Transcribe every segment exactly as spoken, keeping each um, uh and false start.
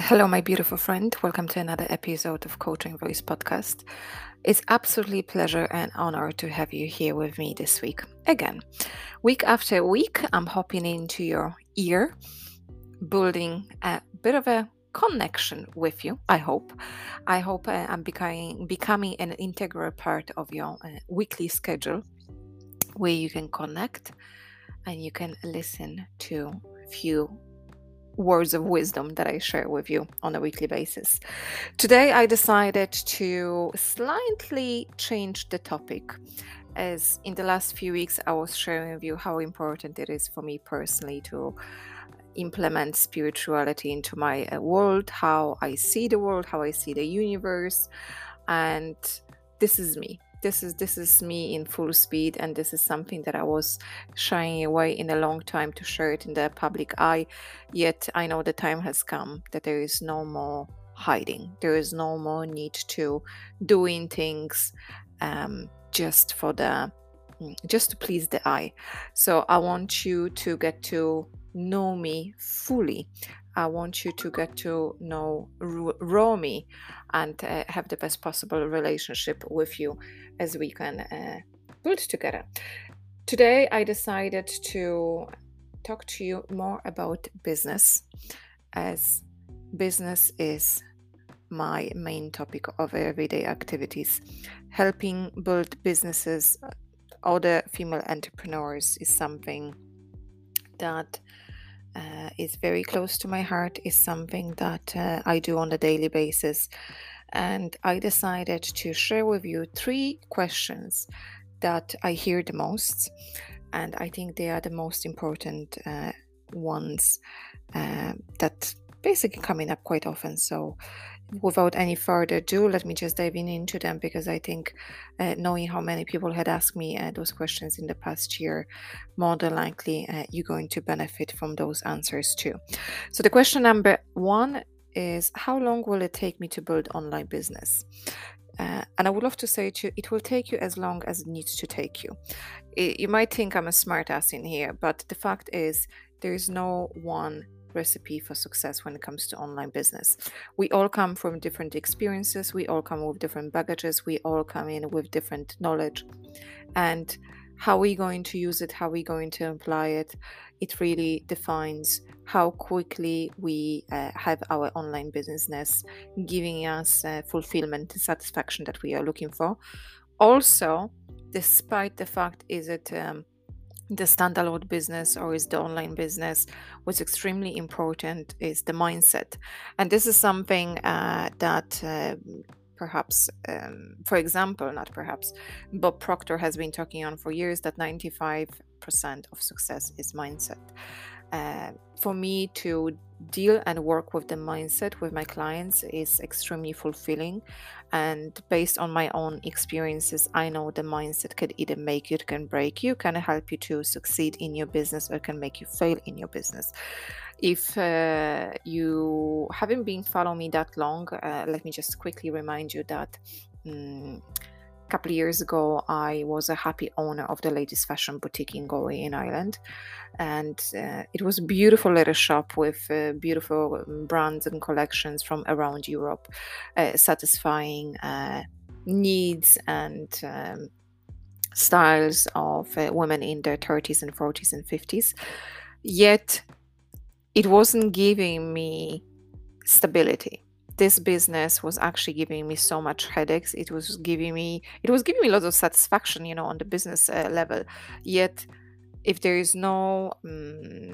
Hello, my beautiful friend. Welcome to another episode of Coaching Voice Podcast. It's absolutely pleasure and honor to have you here with me this week. Again, week after week, I'm hopping into your ear, building a bit of a connection with you. I hope. I hope uh, I'm becoming becoming an integral part of your uh, weekly schedule, where you can connect and you can listen to a few words of wisdom that I share with you on a weekly basis. Today, I decided to slightly change the topic, as in the last few weeks, I was sharing with you how important it is for me personally to implement spirituality into my uh, world, how I see the world, how I see the universe, and this is me. This is this is me in full speed, and this is something that I was shying away in a long time to share it in the public eye. Yet I know the time has come that there is no more hiding. There is no more need to doing things um, just for the just to please the eye. So I want you to get to know me fully. I want you to get to know raw me and uh, have the best possible relationship with you as we can uh, build together. Today, I decided to talk to you more about business, as business is my main topic of everyday activities. Helping build businesses, other female entrepreneurs, is something that uh, is very close to my heart, is something that uh, I do on a daily basis. And I decided to share with you three questions that I hear the most, and I think they are the most important uh, ones uh, that basically coming up quite often. So without any further ado, let me just dive in into them, because I think uh, knowing how many people had asked me uh, those questions in the past year, more than likely uh, you're going to benefit from those answers too. So the question number one is, how long will it take me to build online business? Uh, and I would love to say to you, it will take you as long as it needs to take you. It, you might think I'm a smart ass in here, but the fact is there is no one recipe for success when it comes to online business. We all come from different experiences. We all come with different baggages. We all come in with different knowledge. And how we're going to use it, how we're going to apply it, it really defines how quickly we uh, have our online business giving us uh, fulfillment and satisfaction that we are looking for. Also, despite the fact, is it um, the standalone business or is the online business, what's extremely important is the mindset. And this is something uh, that uh, perhaps, um, for example, not perhaps, Bob Proctor has been talking on for years, that ninety-five percent of success is mindset. Uh, for me to deal and work with the mindset with my clients is extremely fulfilling, and based on my own experiences, I know the mindset can either make you, it can break you, can help you to succeed in your business, or can make you fail in your business. If uh, you haven't been following me that long, uh, let me just quickly remind you that um, a couple of years ago, I was a happy owner of the latest fashion boutique in Galway in Ireland. And uh, it was a beautiful little shop with uh, beautiful brands and collections from around Europe, uh, satisfying uh, needs and um, styles of uh, women in their thirties and forties and fifties. Yet, it wasn't giving me stability. This business was actually giving me so much headaches. It was giving me, it was giving me lots of satisfaction, you know, on the business uh, level. Yet, if there is no um,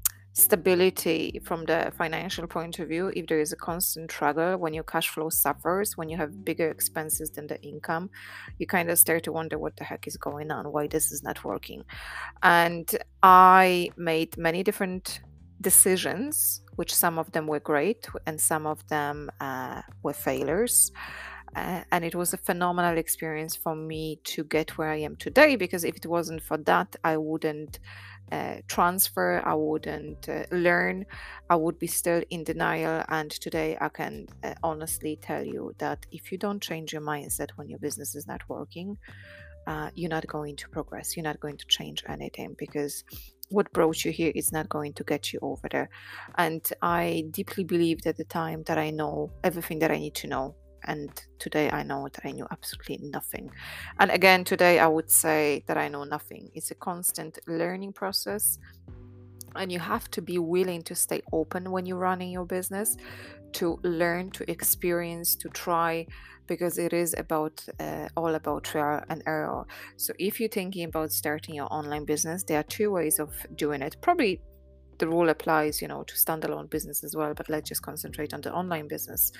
stability from the financial point of view, if there is a constant struggle, when your cash flow suffers, when you have bigger expenses than the income, you kind of start to wonder what the heck is going on, why this is not working. And I made many different decisions, which some of them were great and some of them uh, were failures. Uh, and it was a phenomenal experience for me to get where I am today, because if it wasn't for that, I wouldn't uh, transfer, I wouldn't uh, learn, I would be still in denial. And today I can uh, honestly tell you that if you don't change your mindset when your business is not working, uh, you're not going to progress. You're not going to change anything, because what brought you here is not going to get you over there. And I deeply believed at the time that I know everything that I need to know. And today I know that I knew absolutely nothing. And again, today I would say that I know nothing. It's a constant learning process. And you have to be willing to stay open when you're running your business, to learn, to experience, to try, because it is about uh, all about trial and error. So if you're thinking about starting your online business, there are two ways of doing it. Probably the rule applies, you know, to standalone business as well, but let's just concentrate on the online business.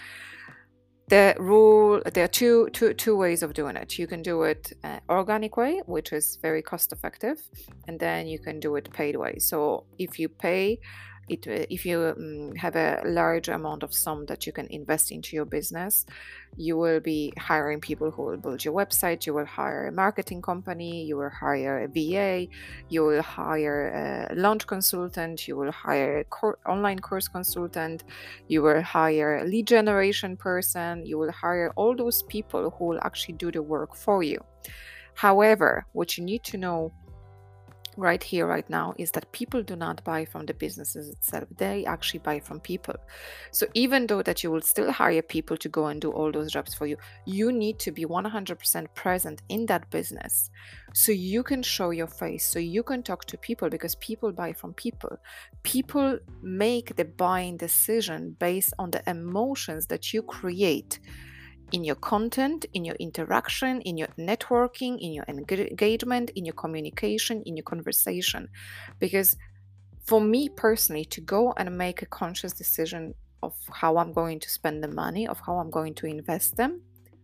The rule, there are two, two, two ways of doing it. You can do it uh, organic way, which is very cost effective, and then you can do it paid way. So if you pay it, if you um, have a large amount of sum that you can invest into your business, you will be hiring people who will build your website. You will hire a marketing company. You will hire a V A. You will hire a launch consultant. You will hire a cor- online course consultant. You will hire a lead generation person. You will hire all those people who will actually do the work for you. However, what you need to know right here, right now, is that people do not buy from the businesses itself. They actually buy from people. So even though that you will still hire people to go and do all those jobs for you, you need to be one hundred percent present in that business, so you can show your face, so you can talk to people, because people buy from people. People make the buying decision based on the emotions that you create in your content, in your interaction, in your networking, in your engagement, in your communication, in your conversation. Because for me personally, to go and make a conscious decision of how I'm going to spend the money, of how I'm going to invest them,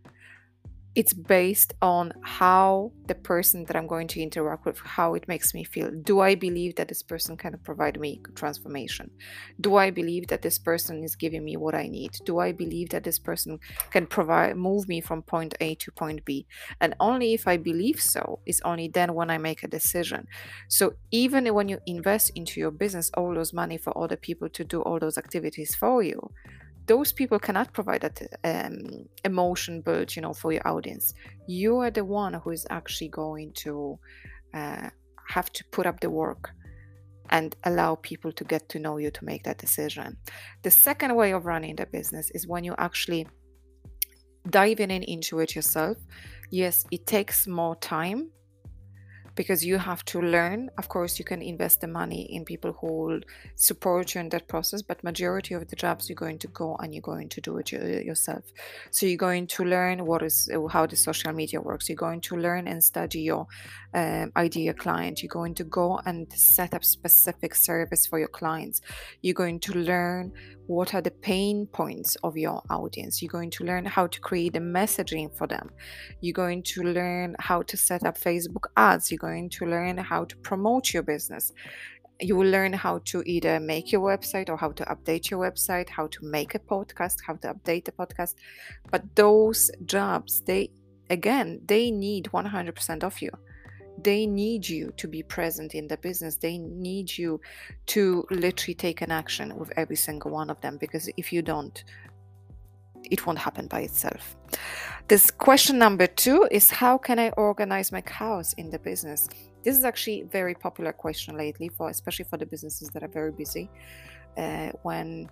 it's based on how the person that I'm going to interact with, how it makes me feel. Do I believe that this person can provide me transformation? Do I believe that this person is giving me what I need? Do I believe that this person can provide, move me from point A to point B? And only if I believe so, is only then when I make a decision. So even when you invest into your business all those money for other people to do all those activities for you, those people cannot provide that um, emotion build, you know, for your audience. You are the one who is actually going to uh, have to put up the work and allow people to get to know you to make that decision. The second way of running the business is when you actually diving in into it yourself. Yes, it takes more time, because you have to learn. Of course, you can invest the money in people who will support you in that process, but majority of the jobs you're going to go and you're going to do it yourself. So you're going to learn what is how the social media works. You're going to learn and study your um, ideal client. You're going to go and set up specific service for your clients. You're going to learn what are the pain points of your audience. You're going to learn how to create a messaging for them. You're going to learn how to set up Facebook ads. You're going to learn how to promote your business. You will learn how to either make your website or how to update your website, how to make a podcast, how to update the podcast. But those jobs, they, again, they need one hundred percent of you. They need you to be present in the business. They need you to literally take an action with every single one of them, because if you don't, it won't happen by itself. This question number two is, how can I organize my chaos in the business? This is actually a very popular question lately, for especially for the businesses that are very busy, uh, when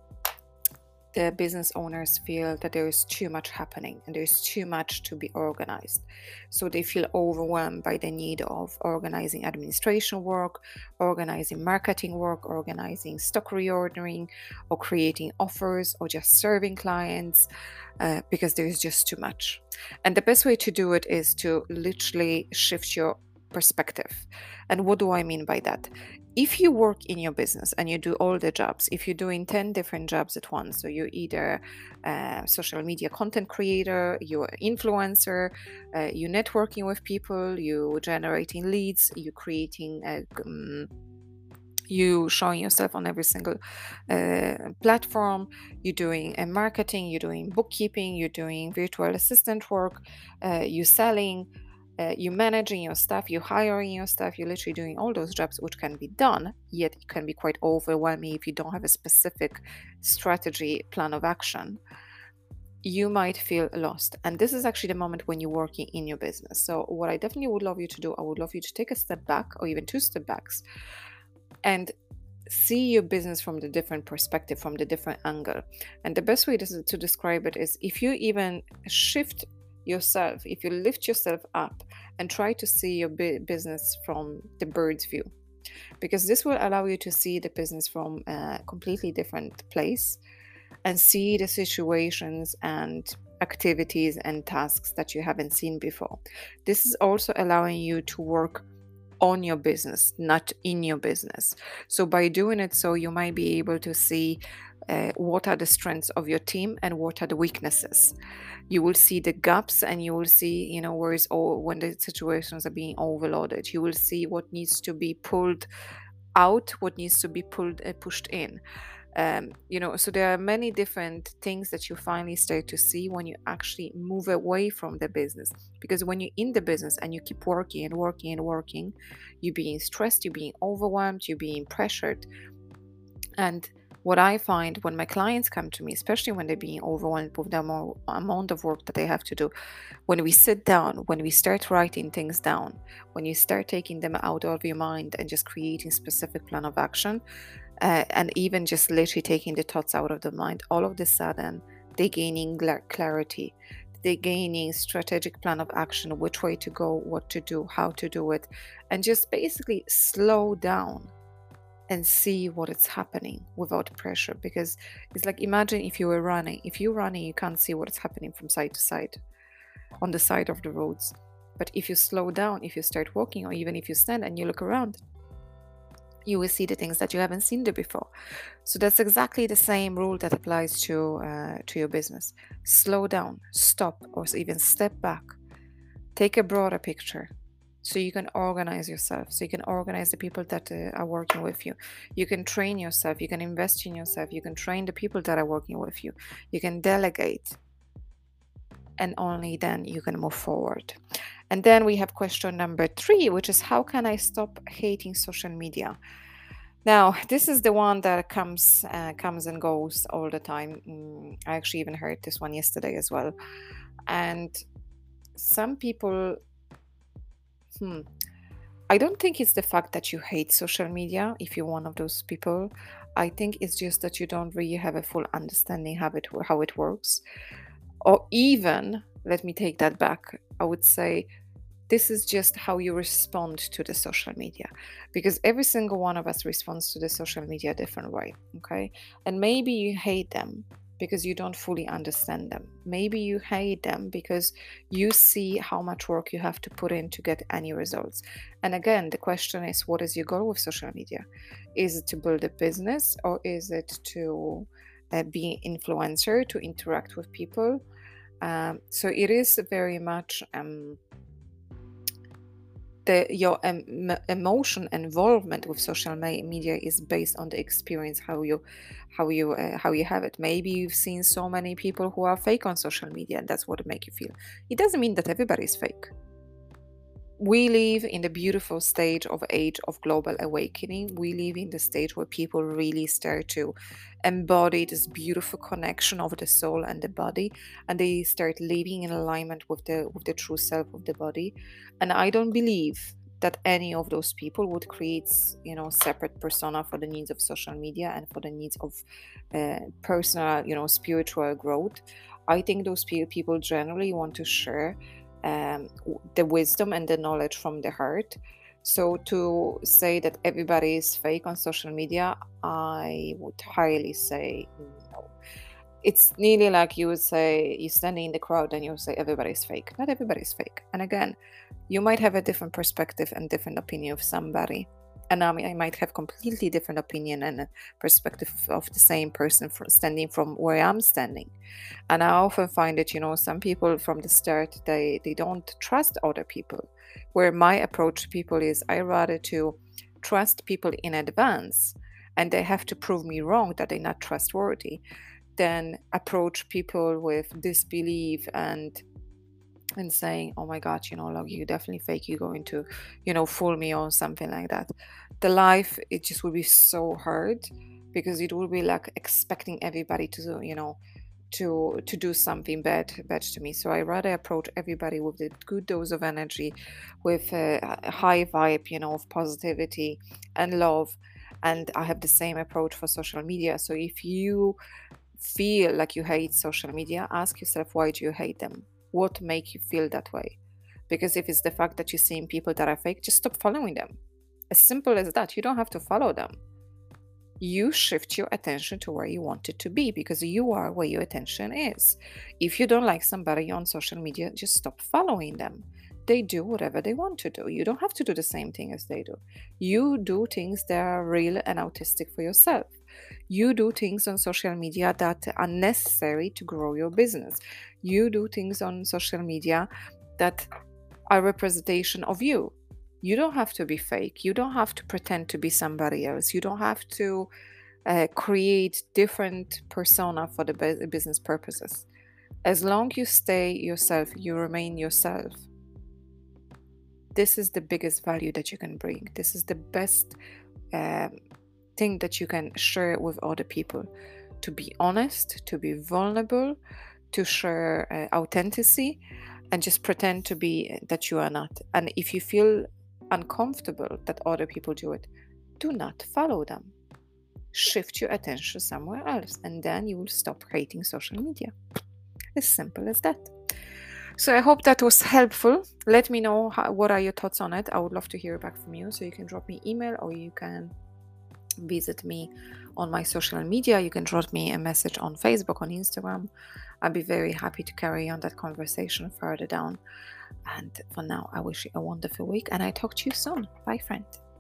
the business owners feel that there is too much happening and there is too much to be organized. So they feel overwhelmed by the need of organizing administration work, organizing marketing work, organizing stock reordering, or creating offers, or just serving clients, uh, because there is just too much. And the best way to do it is to literally shift your perspective. And what do I mean by that? If you work in your business and you do all the jobs, if you're doing ten different jobs at once, so you're either a social media content creator, you're an influencer, uh, you're networking with people, you're generating leads, you're creating a, um, you showing yourself on every single uh, platform, you're doing a marketing, you're doing bookkeeping, you're doing virtual assistant work, uh, you're selling, Uh, you're managing your staff, you're hiring your staff, you're literally doing all those jobs, which can be done, yet it can be quite overwhelming if you don't have a specific strategy plan of action. you might feel lost. And this is actually the moment when you're working in your business. So what I definitely would love you to do, I would love you to take a step back, or even two step backs, and see your business from the different perspective, from the different angle. And the best way to, to describe it is if you even shift yourself, if you lift yourself up and try to see your bu- business from the bird's view, because this will allow you to see the business from a completely different place and see the situations and activities and tasks that you haven't seen before. This is also allowing you to work on your business, not in your business. So by doing it, so you might be able to see uh, what are the strengths of your team and what are the weaknesses. You will see the gaps, and you will see, you know, where is all when the situations are being overloaded. You will see what needs to be pulled out, what needs to be pulled uh, pushed in. Um, you know, so there are many different things that you finally start to see when you actually move away from the business. Because when you're in the business and you keep working and working and working, you're being stressed, you're being overwhelmed, you're being pressured. And what I find when my clients come to me, especially when they're being overwhelmed with the amount amount of work that they have to do, when we sit down, when we start writing things down, when you start taking them out of your mind and just creating specific plan of action, uh, and even just literally taking the thoughts out of the mind, all of a sudden they're gaining gla- clarity. They're gaining strategic plan of action, which way to go, what to do, how to do it, and just basically slow down and see what is happening without pressure. Because it's like, imagine if you were running. If you're running, you can't see what's happening from side to side on the side of the roads. But if you slow down, if you start walking, or even if you stand and you look around, you will see the things that you haven't seen there before. So that's exactly the same rule that applies to uh, to your business. Slow down, stop, or even step back. Take a broader picture, so you can organize yourself, so you can organize the people that uh, are working with you. You can train yourself, you can invest in yourself, you can train the people that are working with you, you can delegate, and only then you can move forward. And then we have question number three, which is, how can I stop hating social media? Now, this is the one that comes uh, comes and goes all the time. Mm, I actually even heard this one yesterday as well. And some people, hmm, I don't think it's the fact that you hate social media if you're one of those people. I think it's just that you don't really have a full understanding how it how it works. Or even, let me take that back. I would say this is just how you respond to the social media, because every single one of us responds to the social media a different way. Okay, and maybe you hate them because you don't fully understand them. Maybe you hate them because you see how much work you have to put in to get any results. And again, the question is, what is your goal with social media? Is it to build a business, or is it to uh, be an influencer, to interact with people? Um, so it is very much um, the your em- emotion involvement with social media is based on the experience, how you how you uh, how you have it. Maybe you've seen so many people who are fake on social media, and that's what it make you feel. It doesn't mean that everybody is fake. We live in the beautiful stage of age of global awakening. We live in the stage where people really start to embody this beautiful connection of the soul and the body, and they start living in alignment with the with the true self of the body. And I don't believe that any of those people would create, you know, separate persona for the needs of social media and for the needs of uh, personal, you know, spiritual growth. I think those people generally want to share um, the wisdom and the knowledge from the heart. So to say that everybody is fake on social media, I would highly say no. It's nearly like you would say, you're standing in the crowd and you say everybody's fake. Not everybody's fake. And again, you might have a different perspective and different opinion of somebody. And I, mean, I might have completely different opinion and perspective of the same person standing from where I'm standing. And I often find that, you know, some people from the start, they, they don't trust other people. Where my approach to people is, I rather to trust people in advance, and they have to prove me wrong that they're not trustworthy, than approach people with disbelief and and saying, oh my god, you know, like, you definitely fake, you're going to, you know, fool me or something like that. The life, it just will be so hard, because it will be like expecting everybody to, you know, to to do something bad bad to me. So I rather approach everybody with a good dose of energy, with a, a high vibe, you know, of positivity and love. And I have the same approach for social media. So if you feel like you hate social media, ask yourself, why do you hate them? What make you feel that way? Because if it's the fact that you're seeing people that are fake, just stop following them. As simple as that. You don't have to follow them. You shift your attention to where you want it to be, because you are where your attention is. If you don't like somebody on social media, just stop following them. They do whatever they want to do. You don't have to do the same thing as they do. You do things that are real and autistic for yourself. You do things on social media that are necessary to grow your business. You do things on social media that are representation of you. You don't have to be fake. You don't have to pretend to be somebody else. You don't have to uh, create different persona for the bu- business purposes. As long you stay yourself, you remain yourself. This is the biggest value that you can bring. This is the best um, thing that you can share with other people. To be honest, to be vulnerable, to share uh, authenticity, and just pretend to be that you are not. And if you feel uncomfortable that other people do it, do not follow them. Shift your attention somewhere else, and then you will stop hating social media. As simple as that. So I hope that was helpful. Let me know how, what are your thoughts on it. I would love to hear back from you. So you can drop me email, or you can visit me on my social media. You can drop me a message on Facebook, on Instagram. I'd be very happy to carry on that conversation further down. And for now, I wish you a wonderful week, and I talk to you soon. Bye, friend.